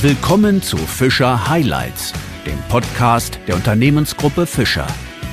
Willkommen zu Fischer Highlights, dem Podcast der Unternehmensgruppe Fischer.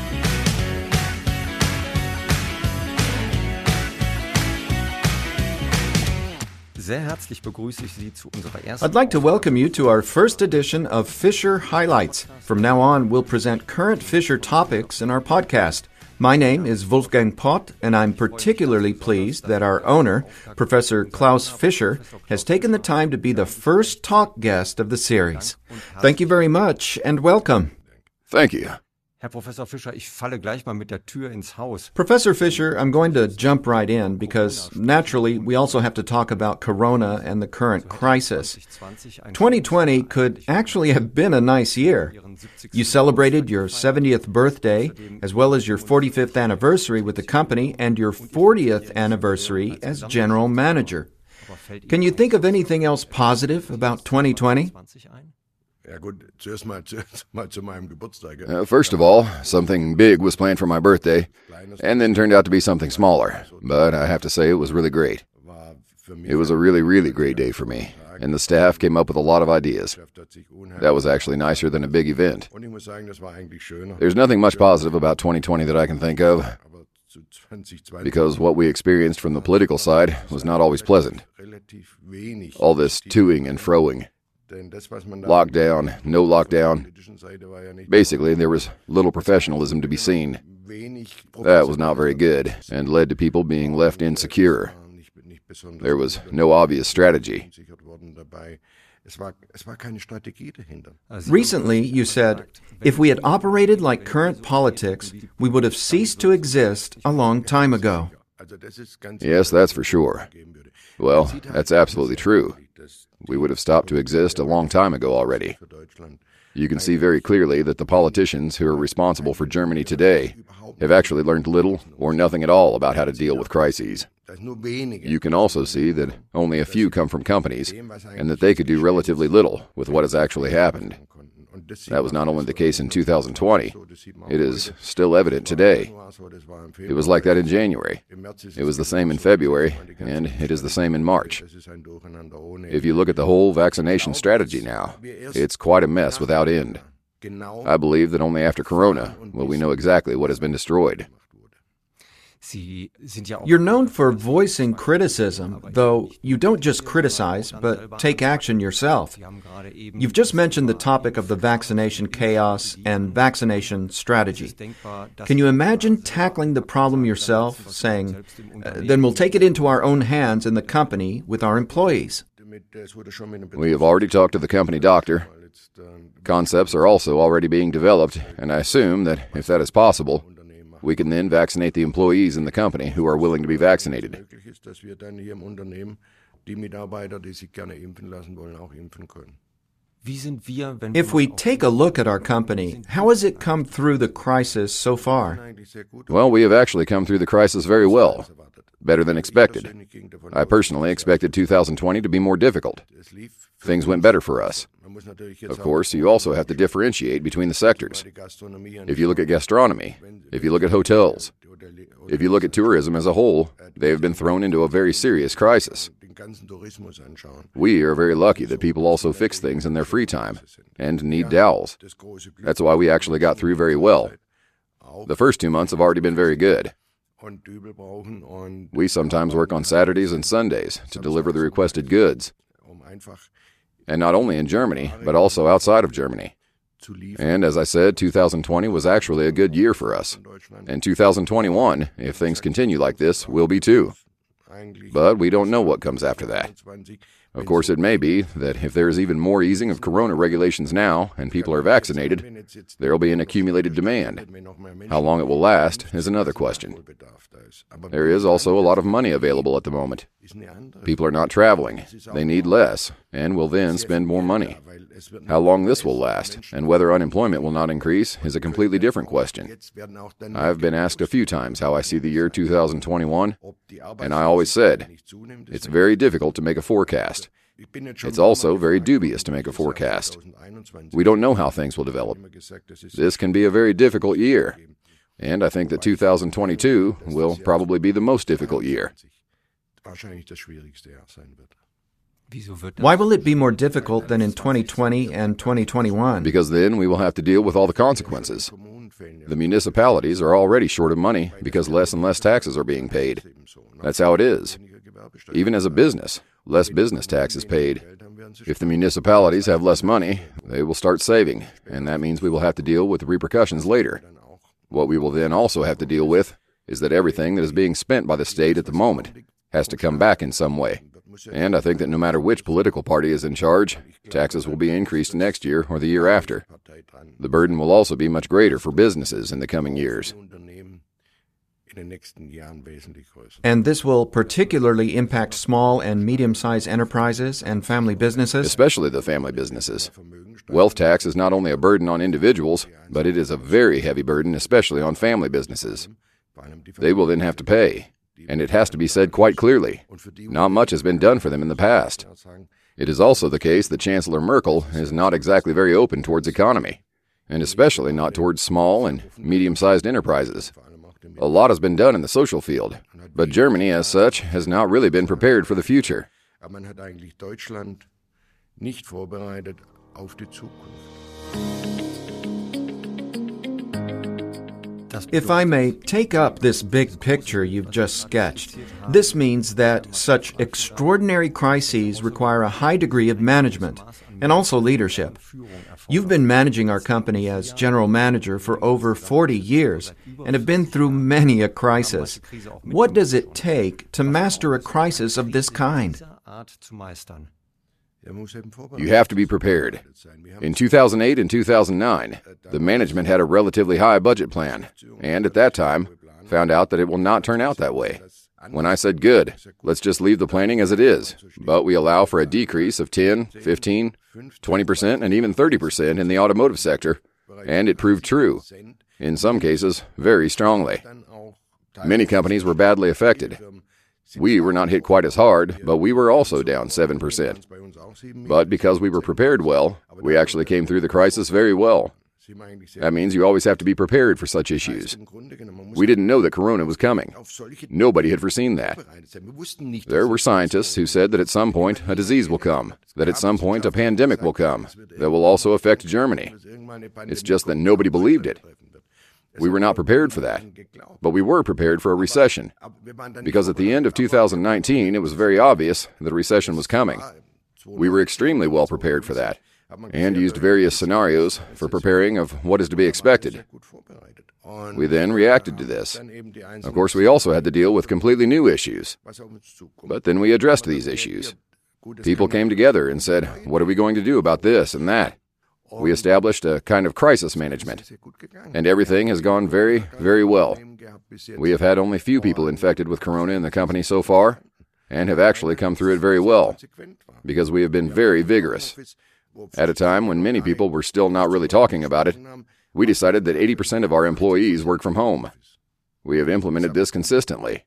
Sehr herzlich begrüße ich Sie zu unserer ersten. I'd like to welcome you to our first edition of Fisher Highlights. From now on, we'll present current Fisher topics in our podcast. My name is Wolfgang Pott, and I'm particularly pleased that our owner, Professor Klaus Fischer, has taken the time to be the first talk guest of the series. Thank you very much, and welcome. Thank you. Herr Professor Fischer, ich falle gleich mal mit der Tür ins Haus. Professor Fischer, I'm going to jump right in because, naturally, we also have to talk about Corona and the current crisis. 2020 could actually have been a nice year. You celebrated your 70th birthday, as well as your 45th anniversary with the company and your 40th anniversary as general manager. Can you think of anything else positive about 2020? First of all, something big was planned for my birthday, and then turned out to be something smaller. But I have to say it was really great. It was a really, really great day for me, and the staff came up with a lot of ideas. That was actually nicer than a big event. There's nothing much positive about 2020 that I can think of, because what we experienced from the political side was not always pleasant. All this toing and froing. Lockdown, no lockdown. Basically, there was little professionalism to be seen. That was not very good and led to people being left insecure. There was no obvious strategy. Recently, you said, if we had operated like current politics, we would have ceased to exist a long time ago. Yes, that's for sure. Well, that's absolutely true. We would have stopped to exist a long time ago already. You can see very clearly that the politicians who are responsible for Germany today have actually learned little or nothing at all about how to deal with crises. You can also see that only a few come from companies, and that they could do relatively little with what has actually happened. That was not only the case in 2020, it is still evident today. It was like that in January. It was the same in February, and it is the same in March. If you look at the whole vaccination strategy now, it's quite a mess without end. I believe that only after Corona will we know exactly what has been destroyed. You're known for voicing criticism, though you don't just criticize, but take action yourself. You've just mentioned the topic of the vaccination chaos and vaccination strategy. Can you imagine tackling the problem yourself, saying, then we'll take it into our own hands in the company with our employees? We have already talked to the company doctor. Concepts are also already being developed, and I assume that if that is possible, we can then vaccinate the employees in the company who are willing to be vaccinated. If we take a look at our company, how has it come through the crisis so far? Well, we have actually come through the crisis very well, better than expected. I personally expected 2020 to be more difficult. Things went better for us. Of course, you also have to differentiate between the sectors. If you look at gastronomy, if you look at hotels, if you look at tourism as a whole, they have been thrown into a very serious crisis. We are very lucky that people also fix things in their free time and need dowels. That's why we actually got through very well. The first 2 months have already been very good. We sometimes work on Saturdays and Sundays to deliver the requested goods. And not only in Germany, but also outside of Germany. And as I said, 2020 was actually a good year for us. And 2021, if things continue like this, will be too. But we don't know what comes after that. Of course, it may be that if there is even more easing of corona regulations now and people are vaccinated, there will be an accumulated demand. How long it will last is another question. There is also a lot of money available at the moment. People are not traveling. They need less and will then spend more money. How long this will last and whether unemployment will not increase is a completely different question. I've been asked a few times how I see the year 2021, and I always said, it's very difficult to make a forecast. It's also very dubious to make a forecast. We don't know how things will develop. This can be a very difficult year, and I think that 2022 will probably be the most difficult year. Why will it be more difficult than in 2020 and 2021? Because then we will have to deal with all the consequences. The municipalities are already short of money because less and less taxes are being paid. That's how it is. Even as a business, less business tax is paid. If the municipalities have less money, they will start saving, and that means we will have to deal with the repercussions later. What we will then also have to deal with is that everything that is being spent by the state at the moment has to come back in some way. And I think that no matter which political party is in charge, taxes will be increased next year or the year after. The burden will also be much greater for businesses in the coming years. And this will particularly impact small and medium-sized enterprises and family businesses? Especially the family businesses. Wealth tax is not only a burden on individuals, but it is a very heavy burden, especially on family businesses. They will then have to pay. And it has to be said quite clearly, not much has been done for them in the past. It is also the case that Chancellor Merkel is not exactly very open towards economy, and especially not towards small and medium-sized enterprises. A lot has been done in the social field, but Germany, as such, has not really been prepared for the future. If I may take up this big picture you've just sketched, this means that such extraordinary crises require a high degree of management and also leadership. You've been managing our company as general manager for over 40 years and have been through many a crisis. What does it take to master a crisis of this kind? You have to be prepared. In 2008 and 2009, the management had a relatively high budget plan, and at that time, found out that it will not turn out that way. When I said, good, let's just leave the planning as it is, but we allow for a decrease of 10, 15, 20%, and even 30% in the automotive sector, and it proved true. In some cases, very strongly. Many companies were badly affected. We were not hit quite as hard, but we were also down 7%. But because we were prepared well, we actually came through the crisis very well. That means you always have to be prepared for such issues. We didn't know that Corona was coming. Nobody had foreseen that. There were scientists who said that at some point a disease will come, that at some point a pandemic will come, that will also affect Germany. It's just that nobody believed it. We were not prepared for that, but we were prepared for a recession, because at the end of 2019, it was very obvious that a recession was coming. We were extremely well prepared for that, and used various scenarios for preparing of what is to be expected. We then reacted to this. Of course, we also had to deal with completely new issues, but then we addressed these issues. People came together and said, what are we going to do about this and that? We established a kind of crisis management, and everything has gone very, very well. We have had only few people infected with Corona in the company so far, and have actually come through it very well, because we have been very vigorous. At a time when many people were still not really talking about it, we decided that 80% of our employees work from home. We have implemented this consistently.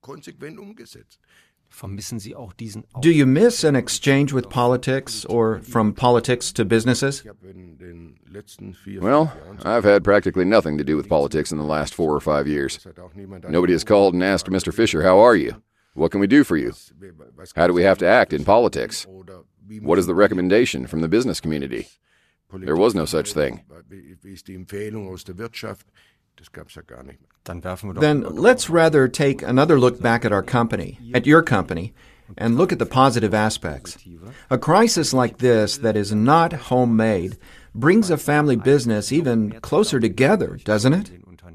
Do you miss an exchange with politics, or from politics to businesses? Well, I've had practically nothing to do with politics in the last 4 or 5 years. Nobody has called and asked Mr. Fischer, how are you? What can we do for you? How do we have to act in politics? What is the recommendation from the business community? There was no such thing. Then let's rather take another look back at our company, at your company, and look at the positive aspects. A crisis like this that is not homemade brings a family business even closer together, doesn't it?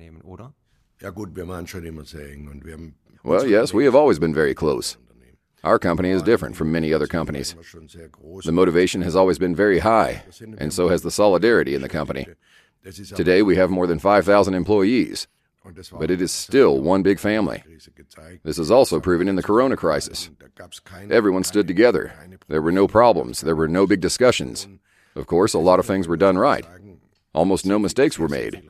Well, yes, we have always been very close. Our company is different from many other companies. The motivation has always been very high, and so has the solidarity in the company. Today we have more than 5,000 employees, but it is still one big family. This is also proven in the Corona crisis. Everyone stood together. There were no problems. There were no big discussions. Of course, a lot of things were done right. Almost no mistakes were made.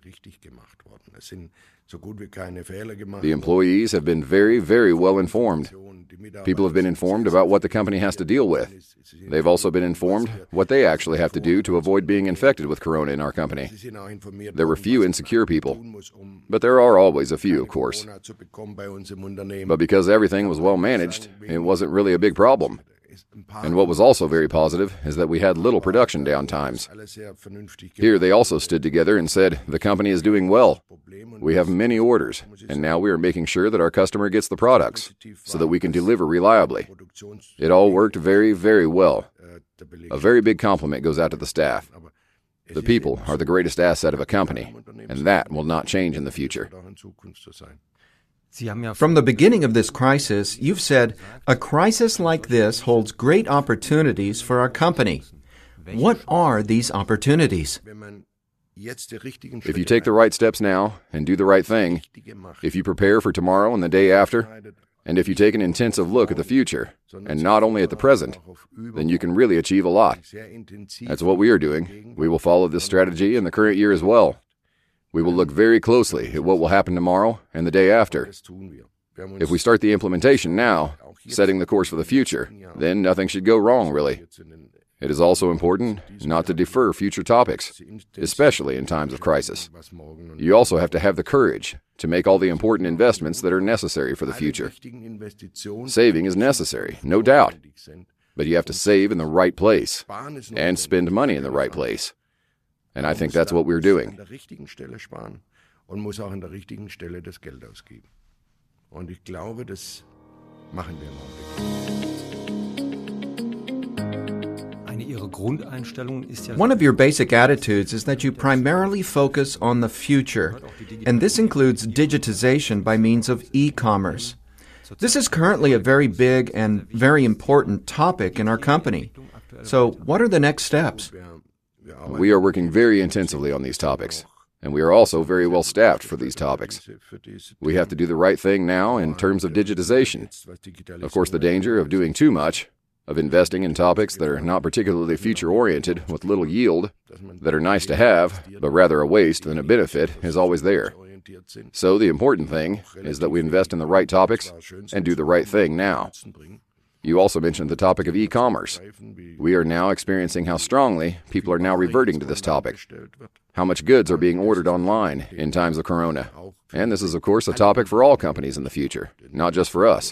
The employees have been very, very well informed. People have been informed about what the company has to deal with. They've also been informed what they actually have to do to avoid being infected with Corona in our company. There were few insecure people, but there are always a few, of course. But because everything was well managed, it wasn't really a big problem. And what was also very positive is that we had little production downtimes. Here they also stood together and said, the company is doing well. We have many orders, and now we are making sure that our customer gets the products so that we can deliver reliably. It all worked very, very well. A very big compliment goes out to the staff. The people are the greatest asset of a company, and that will not change in the future. From the beginning of this crisis, you've said, a crisis like this holds great opportunities for our company. What are these opportunities? If you take the right steps now and do the right thing, if you prepare for tomorrow and the day after, and if you take an intensive look at the future, and not only at the present, then you can really achieve a lot. That's what we are doing. We will follow this strategy in the current year as well. We will look very closely at what will happen tomorrow and the day after. If we start the implementation now, setting the course for the future, then nothing should go wrong, really. It is also important not to defer future topics, especially in times of crisis. You also have to have the courage to make all the important investments that are necessary for the future. Saving is necessary, no doubt, but you have to save in the right place and spend money in the right place. And I think that's what we're doing. One of your basic attitudes is that you primarily focus on the future, and this includes digitization by means of e-commerce. This is currently a very big and very important topic in our company. So what are the next steps? We are working very intensively on these topics, and we are also very well staffed for these topics. We have to do the right thing now in terms of digitization. Of course, the danger of doing too much, of investing in topics that are not particularly future-oriented with little yield, that are nice to have, but rather a waste than a benefit, is always there. So the important thing is that we invest in the right topics and do the right thing now. You also mentioned the topic of e-commerce. We are now experiencing how strongly people are now reverting to this topic, how much goods are being ordered online in times of Corona. And this is, of course, a topic for all companies in the future, not just for us.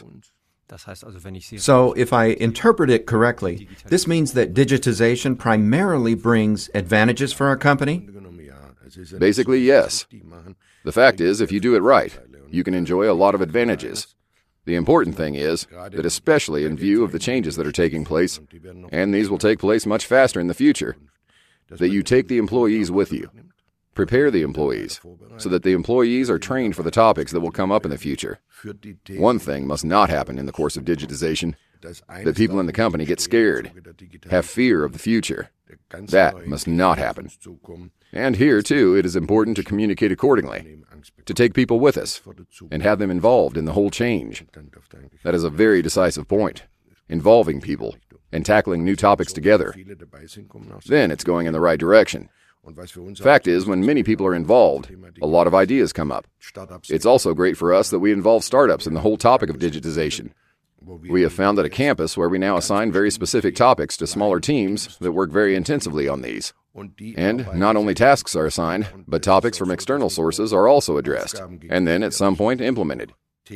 So, if I interpret it correctly, this means that digitization primarily brings advantages for our company? Basically, yes. The fact is, if you do it right, you can enjoy a lot of advantages. The important thing is that especially in view of the changes that are taking place, and these will take place much faster in the future, that you take the employees with you. Prepare the employees so that the employees are trained for the topics that will come up in the future. One thing must not happen in the course of digitization, that people in the company get scared, have fear of the future. That must not happen. And here, too, it is important to communicate accordingly, to take people with us, and have them involved in the whole change. That is a very decisive point, involving people and tackling new topics together. Then it's going in the right direction. Fact is, when many people are involved, a lot of ideas come up. It's also great for us that we involve startups in the whole topic of digitization. We have found that a campus where we now assign very specific topics to smaller teams that work very intensively on these. And not only tasks are assigned, but topics from external sources are also addressed, and then at some point implemented.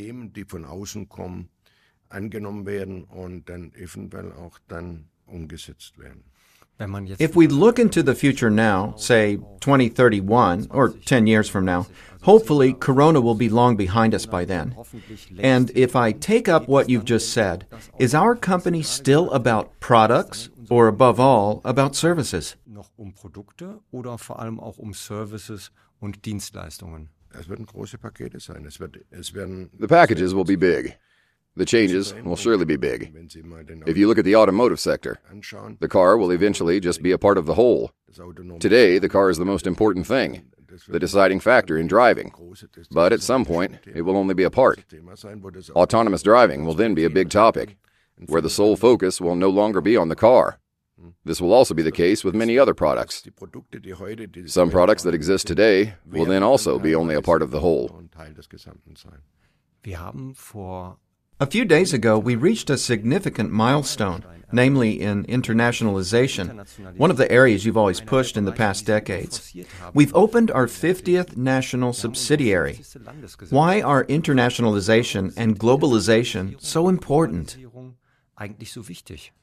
If we look into the future now, say 2031 or 10 years from now, hopefully Corona will be long behind us by then. And if I take up what you've just said, is our company still about products or above all about services? Produkte oder vor allem auch Services und Dienstleistungen? The packages will be big. The changes will surely be big. If you look at the automotive sector, the car will eventually just be a part of the whole. Today, the car is the most important thing, the deciding factor in driving. But at some point, it will only be a part. Autonomous driving will then be a big topic, where the sole focus will no longer be on the car. This will also be the case with many other products. Some products that exist today will then also be only a part of the whole. A few days ago, we reached a significant milestone, namely in internationalization, one of the areas you've always pushed in the past decades. We've opened our 50th national subsidiary. Why are internationalization and globalization so important? eigentlich so wichtig?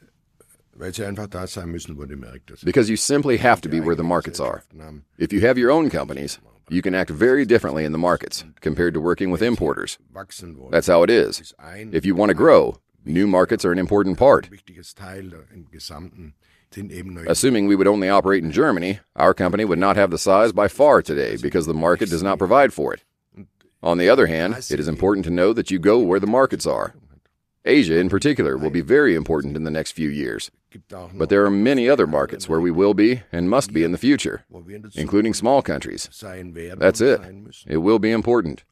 Because you simply have to be where the markets are. If you have your own companies, you can act very differently in the markets compared to working with importers. That's how it is. If you want to grow, new markets are an important part. Assuming we would only operate in Germany, our company would not have the size by far today because the market does not provide for it. On the other hand, it is important to know that you go where the markets are. Asia, in particular, will be very important in the next few years. But there are many other markets where we will be and must be in the future, including small countries. That's it. It will be important.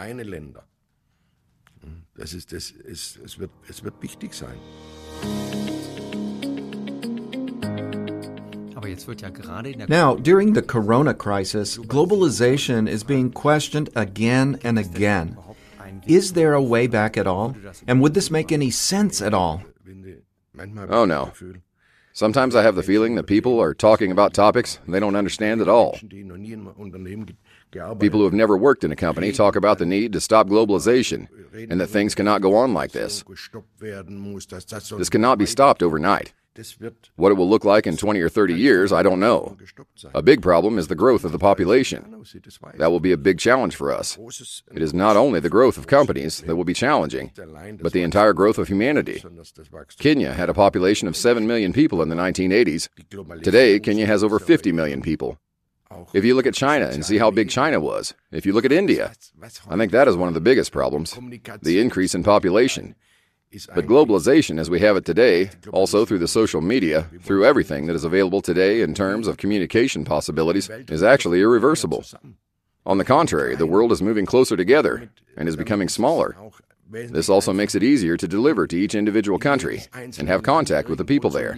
Now, during the corona crisis, globalization is being questioned again and again. Is there a way back at all? And would this make any sense at all? Oh, no. Sometimes I have the feeling that people are talking about topics they don't understand at all. People who have never worked in a company talk about the need to stop globalization and that things cannot go on like this. This cannot be stopped overnight. What it will look like in 20 or 30 years, I don't know. A big problem is the growth of the population. That will be a big challenge for us. It is not only the growth of companies that will be challenging, but the entire growth of humanity. Kenya had a population of 7 million people in the 1980s. Today, Kenya has over 50 million people. If you look at China and see how big China was, if you look at India, I think that is one of the biggest problems, the increase in population. But globalization as we have it today, also through the social media, through everything that is available today in terms of communication possibilities, is actually irreversible. On the contrary, the world is moving closer together and is becoming smaller. This also makes it easier to deliver to each individual country and have contact with the people there.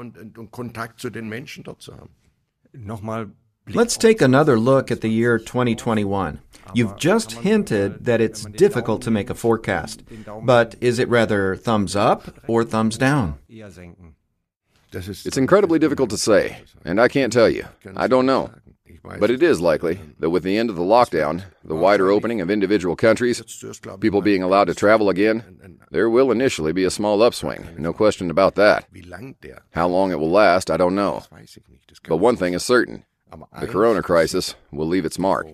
Let's take another look at the year 2021. You've just hinted that it's difficult to make a forecast, but is it rather thumbs up or thumbs down? It's incredibly difficult to say, and I can't tell you. I don't know. But it is likely that with the end of the lockdown, the wider opening of individual countries, people being allowed to travel again, there will initially be a small upswing, no question about that. How long it will last, I don't know. But one thing is certain. The corona crisis will leave its mark.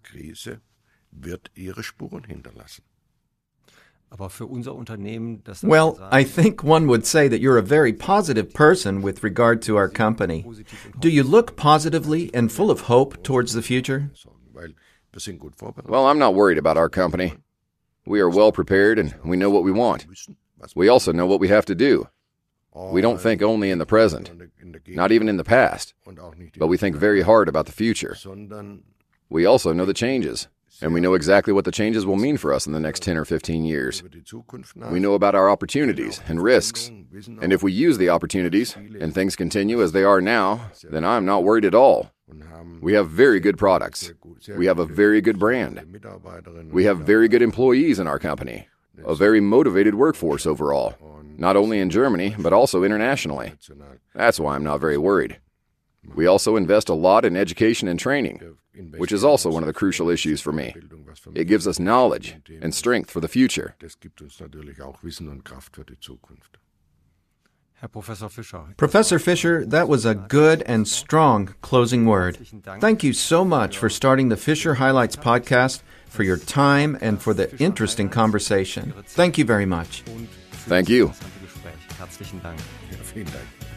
Well, I think one would say that you're a very positive person with regard to our company. Do you look positively and full of hope towards the future? Well, I'm not worried about our company. We are well prepared and we know what we want. We also know what we have to do. We don't think only in the present, not even in the past, but we think very hard about the future. We also know the changes, and we know exactly what the changes will mean for us in the next 10 or 15 years. We know about our opportunities and risks, and if we use the opportunities and things continue as they are now, then I'm not worried at all. We have very good products. We have a very good brand. We have very good employees in our company, a very motivated workforce overall. Not only in Germany, but also internationally. That's why I'm not very worried. We also invest a lot in education and training, which is also one of the crucial issues for me. It gives us knowledge and strength for the future. Professor Fischer, that was a good and strong closing word. Thank you so much for starting the Fischer Highlights podcast, for your time, and for the interesting conversation. Thank you very much. Thank you. Herzlichen Dank. Ja, vielen Dank.